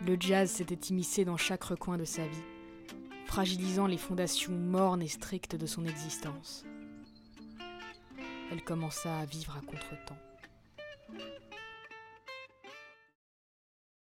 Le jazz s'était immiscé dans chaque recoin de sa vie, fragilisant les fondations mornes et strictes de son existence. Elle commença à vivre à contretemps.